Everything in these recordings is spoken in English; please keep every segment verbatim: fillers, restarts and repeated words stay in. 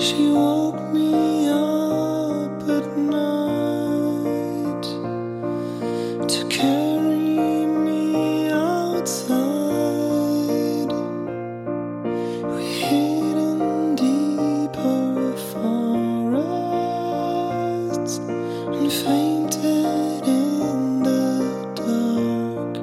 She woke me up at night to carry me outside. We hid in deeper forests and fainted in the dark.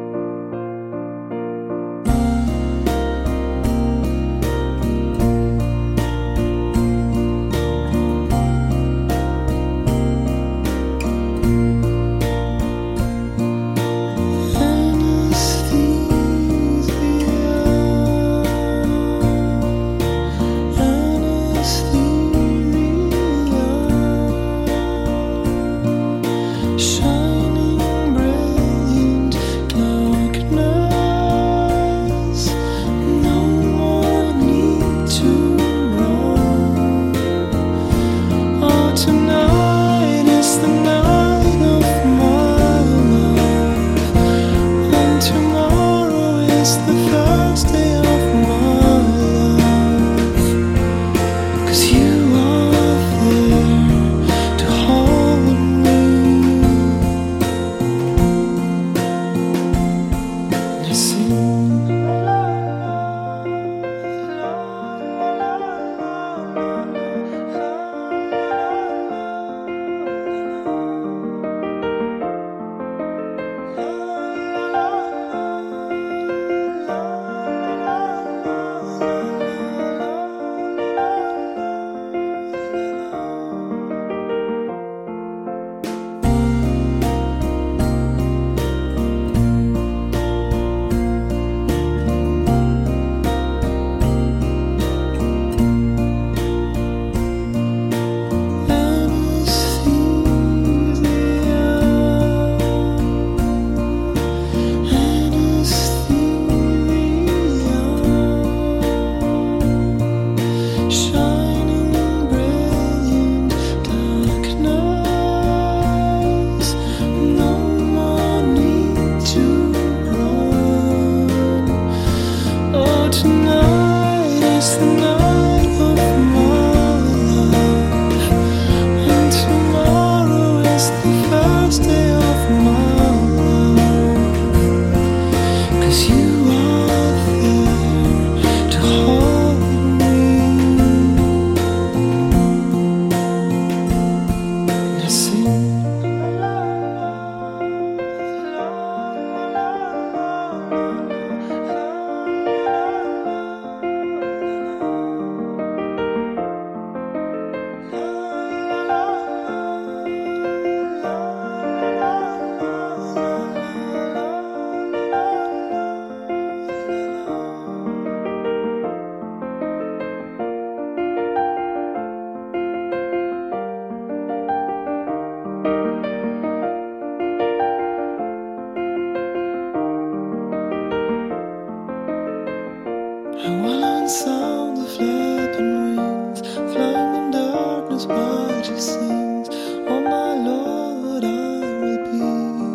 Sound of flapping wings, flying in darkness while she sings. Oh my Lord, I will be.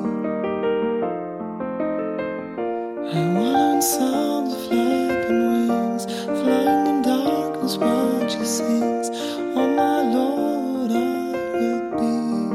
I want sound of flapping wings, flying in darkness while she sings. Oh my Lord, I will be.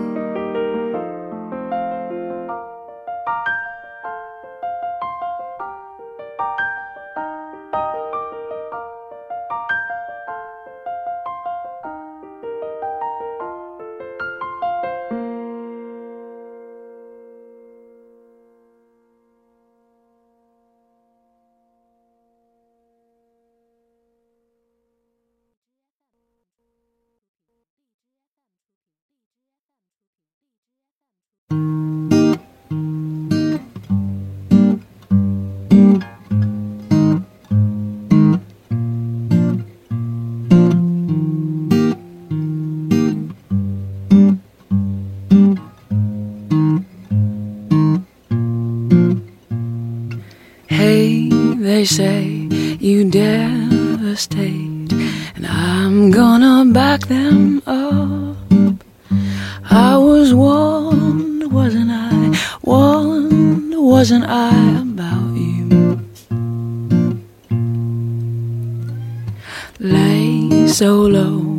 They say you devastate, and I'm gonna back them up. I was warned, wasn't I? Warned, wasn't I about you? Lay so low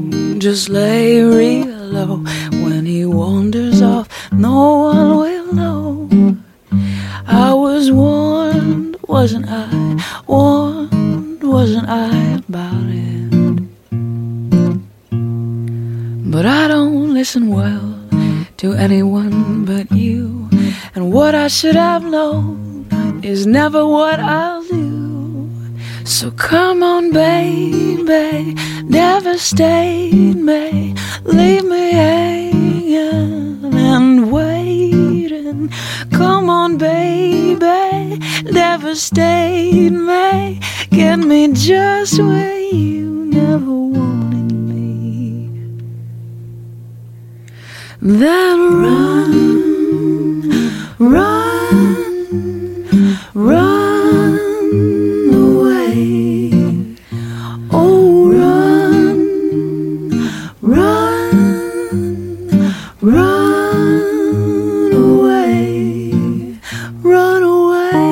just lay real low. When he wanders off, no one will know. I was warned, wasn't I? Warned, wasn't I about it? But I don't listen well to anyone but you. And what I should have known is never what I'll do. So come on, baby, devastate me, leave me hanging and waiting. Come on, baby, devastate me, get me just where you never wanted me. Then run, run, run away. Oh, run, run, run away, run away.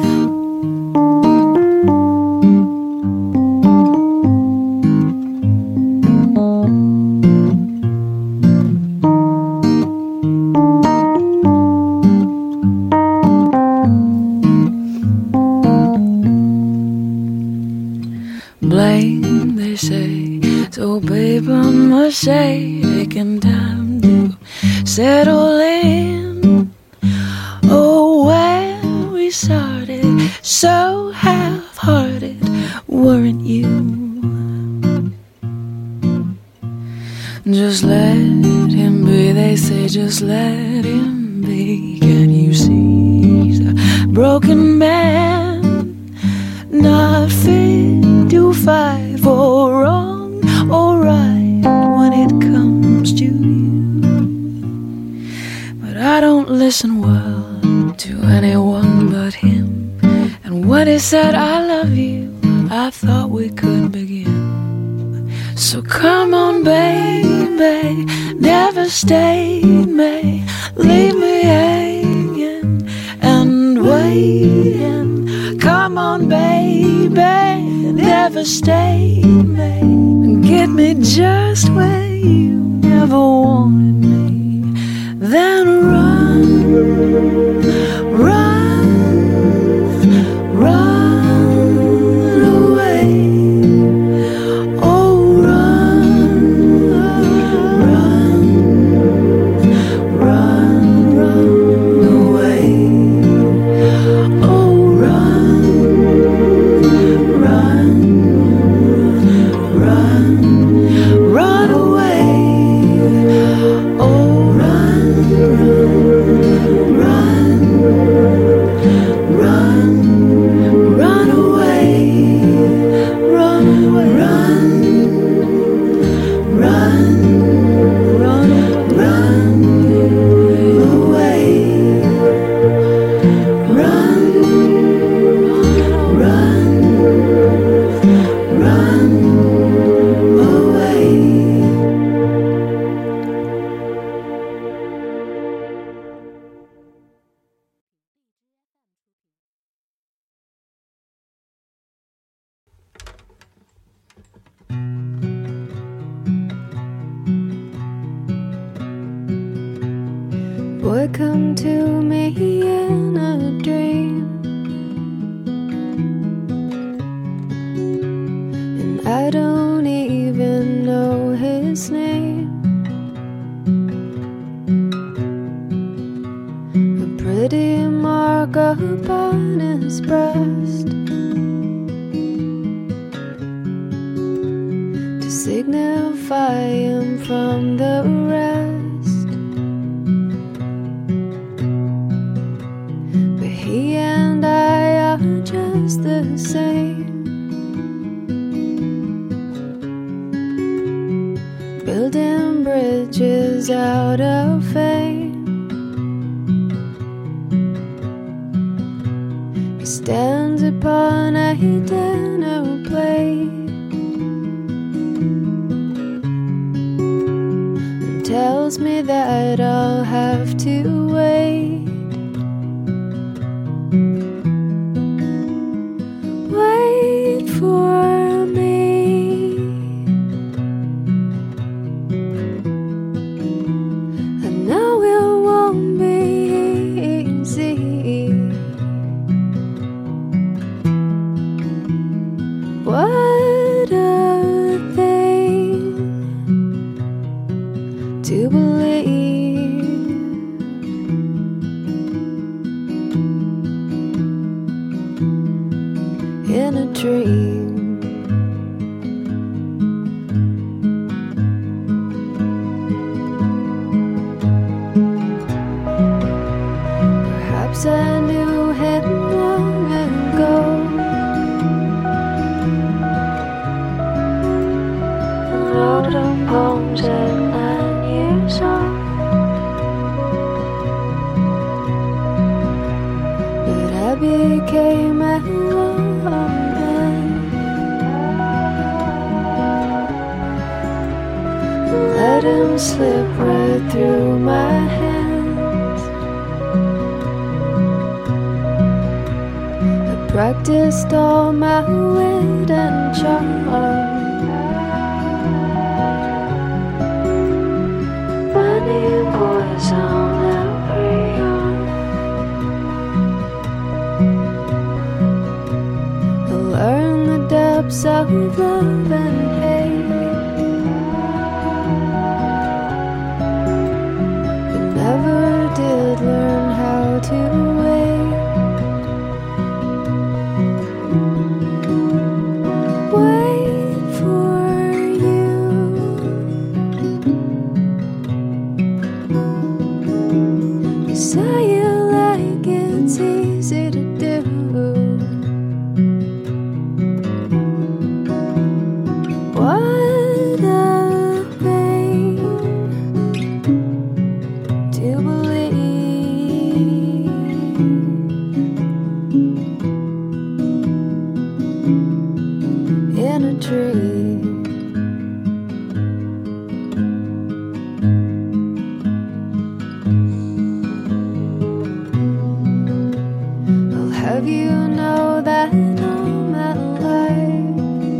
Blame, they say, so paper mache, taking time to settle in. Oh, where we started, so half-hearted, weren't you? Just let him be, they say, just let him be. Can you see he's a broken man, not fit to fight for wrong or right when it comes to you? But I don't listen well to anyone but him. And when he said I love you, I thought we could begin. So come on, baby, devastate me, leave me hanging and waiting. Come on, baby, devastate me, get me just where you never wanted me. Then run, run, run away. Oh, run, run, run, run away. Oh, run, run, run, run away. Oh, run, run, run, run away. Run away. Run, run, run, run away. Run, run, run away. Boy, come to me in a dream, and I don't even know his name. A pretty mark upon his breast to signify him from the rest. But he and I are just the same, building bridges out of fame. He stands upon a dinner plate and tells me that I'll have to wait. Wait for me. believe in a dream. Perhaps I knew him long ago. I wrote down poems at nine years old, but I became a woman. Let him slip right through my hands. I practiced all my wit and charm. Many boys on every arm. I learned the depths of love and hate, but never did learn how to wait. Wait for you. You say you like it's easy to do. What a pain to believe in a dream. I'll have you know that all my life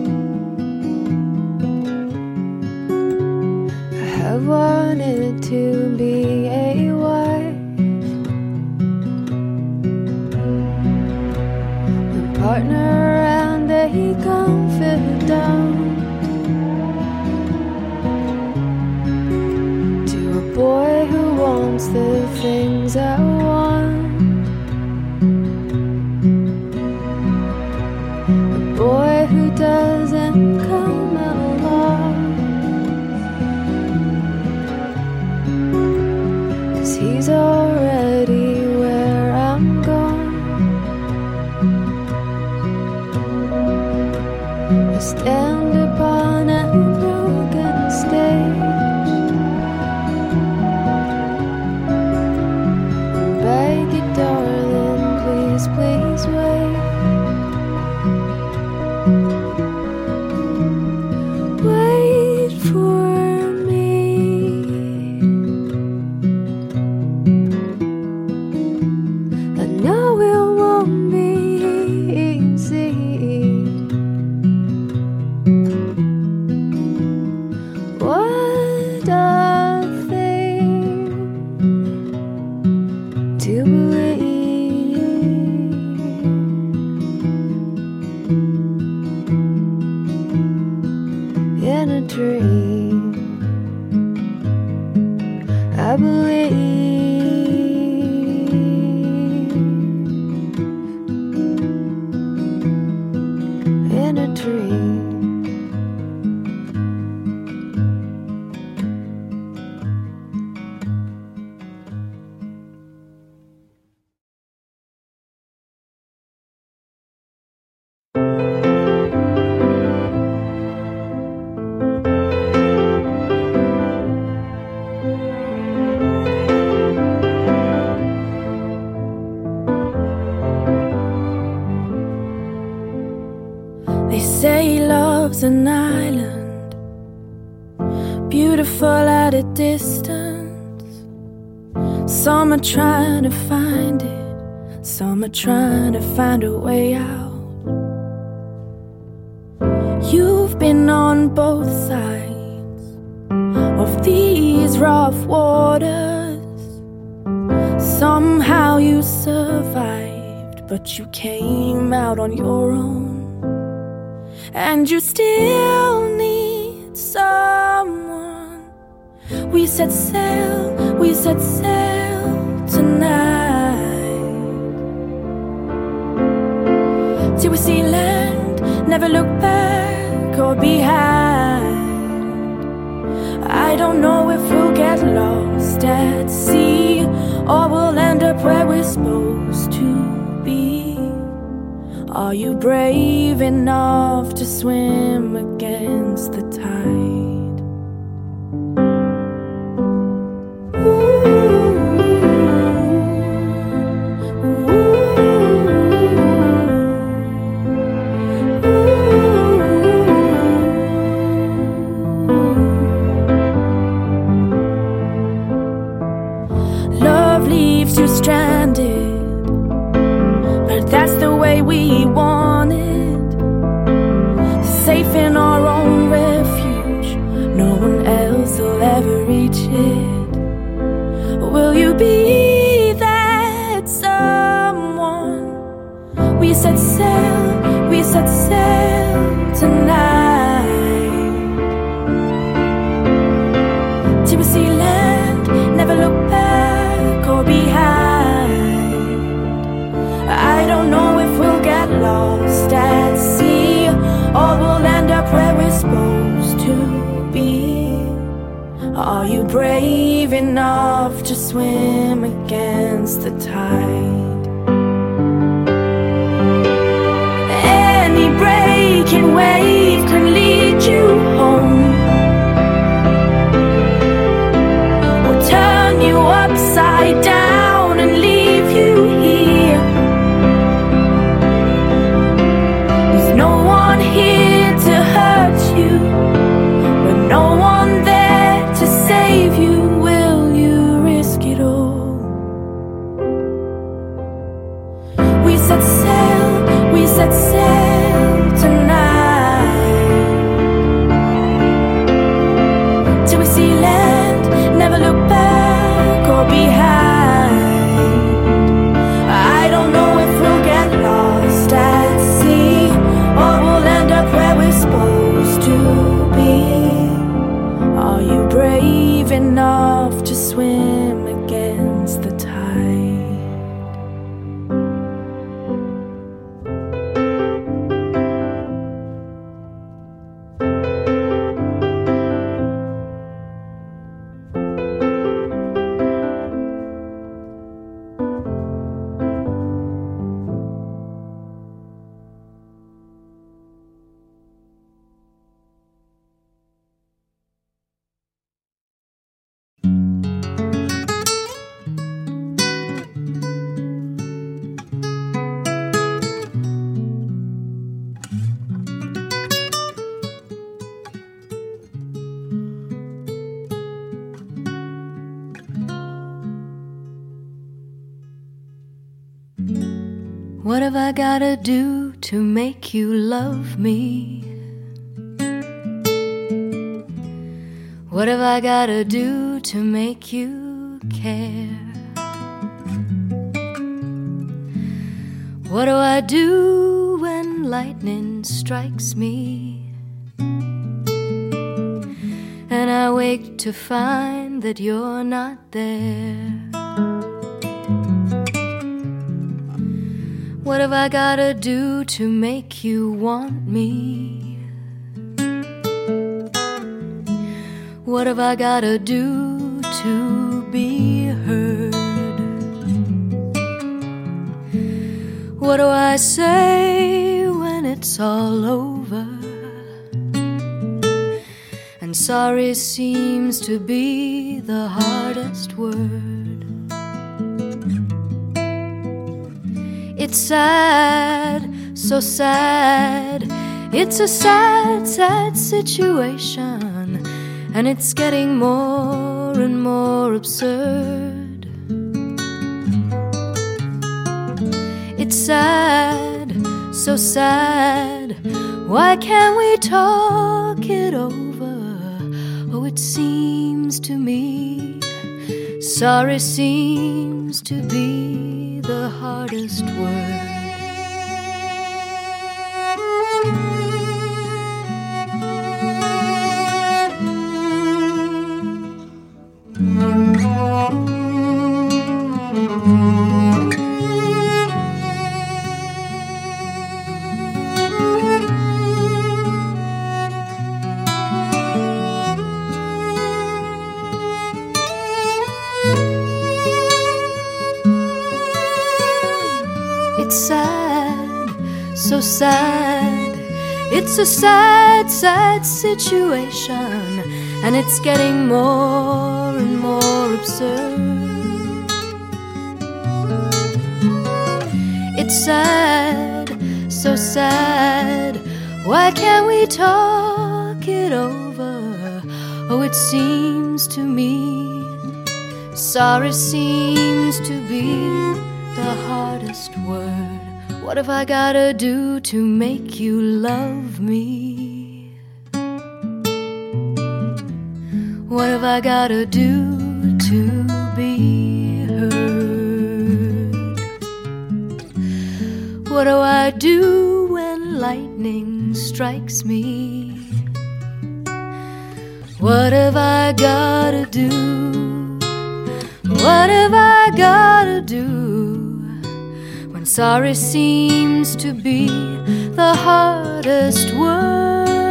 I have wanted to be a wife, a partner and a confidant to a boy who wants the things I want, a boy who doesn't come along, 'cause he's already where I'm going. I stand upon a broken stage and beg you, darling, please, please wait. Wait for me. I know it won't be easy. What a thing to believe in a dream. I believe in a dream. They say love's an island, beautiful at a distance. Some are trying to find it, some are trying to find a way out. You've been on both sides of these rough waters. Somehow you survived, but you came out on your own. And you still need someone We set sail, we set sail tonight, till we see land, never look back or behind. I don't know if we'll get lost at sea, or we'll end up where we're supposed to be. Are you brave enough to swim against the tide? Ooh. You're stranded, but that's the way we want it. Safe in our own refuge, no one else will ever reach it. Will you be that someone? We set sail, we set sail tonight, till we see land, never look back or behind. I don't know if we'll get lost at sea, or we'll end up where we're supposed to be. Are you brave enough to swim against the tide? Any breaking wave can lead you home, or turn you upside down and leave you here. There's no one here to hurt you, but no one there to save you. Will you risk it all? We set sail, we set sail tonight, till we see land, never look back or behind. I don't know if we'll get lost at sea, or we'll end up where we're supposed to be. Are you brave enough to swim against the tide? What have I gotta do to make you love me? What have I gotta do to make you care? What do I do when lightning strikes me, and I wake to find that you're not there? What have I gotta do to make you want me? What have I gotta do to be heard? What do I say when it's all over, and sorry seems to be the hardest word? It's sad, so sad. It's a sad, sad situation, and it's getting more and more absurd. It's sad, so sad. Why can't we talk it over? Oh, it seems to me sorry seems to be the hardest word. It's sad, so sad. It's a sad, sad situation, and it's getting more and more absurd. It's sad, so sad. Why can't we talk it over? Oh, it seems to me sorry seems to be the hardest word. What have I gotta do to make you love me? What have I gotta do to be heard? What do I do when lightning strikes me? What have I gotta do? What have I gotta do when sorry seems to be the hardest word?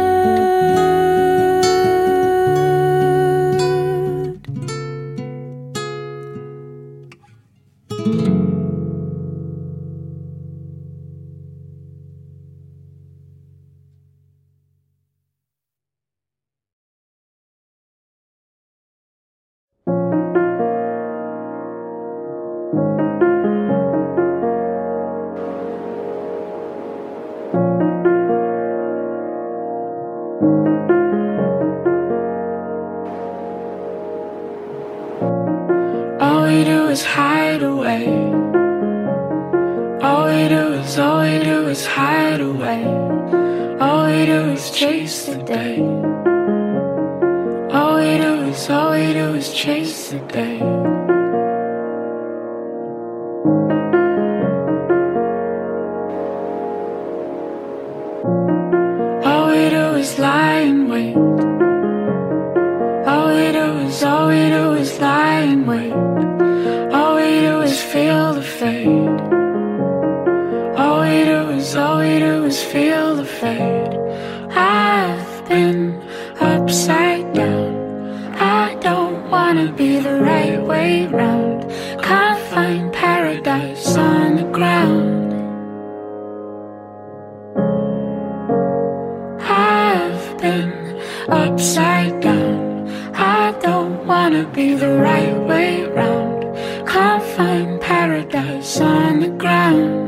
All we do is hide away. All we do is, all we do is hide away. All we do is chase the day. All we do is, all we do is chase the day. All we do is lie in wait. All we do is, all we do is lie in wait. All we do is feel the fade. All we do is, all we do is feel the fade. I've been upside down. I don't wanna be the right way round. Can't find paradise on the ground. I've been upside down. I don't wanna be the right way round. Can't find paradise on the ground.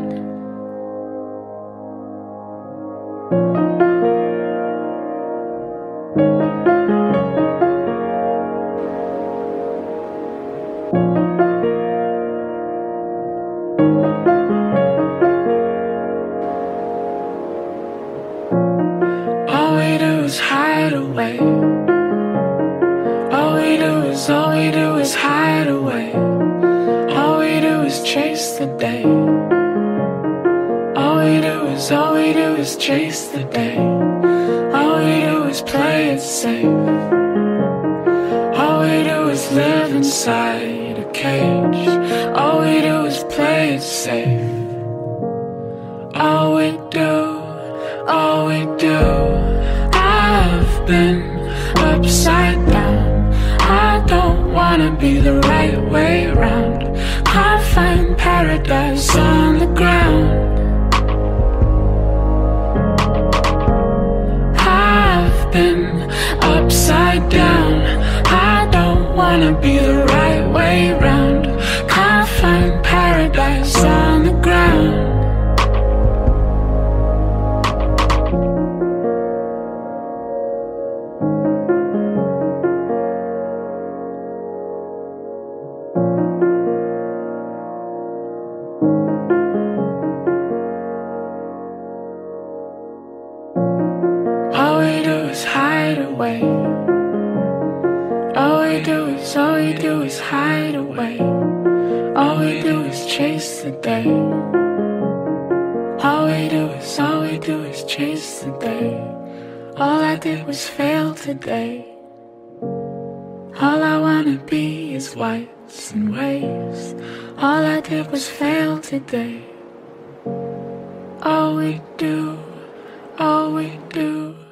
All we do is hide away. All we do is, all we do is hide away. All we do is chase the day. All we do is, all we do is chase the day. All we do is play it safe. All we do is live inside a cage. All we do is play it safe. All we do, all we do. I've been upside down. I don't wanna be the right way round. Can't find paradise on the ground. I've been upside down. I don't wanna be the right way round. Can't find paradise on the ground. All we do is hide away. All we do is, all we do is hide away. All we do is chase the day. All we do is, all we do is chase the day. All I did was fail today. All I wanna be is whites and waves. All I did was fail today. All we do, all we do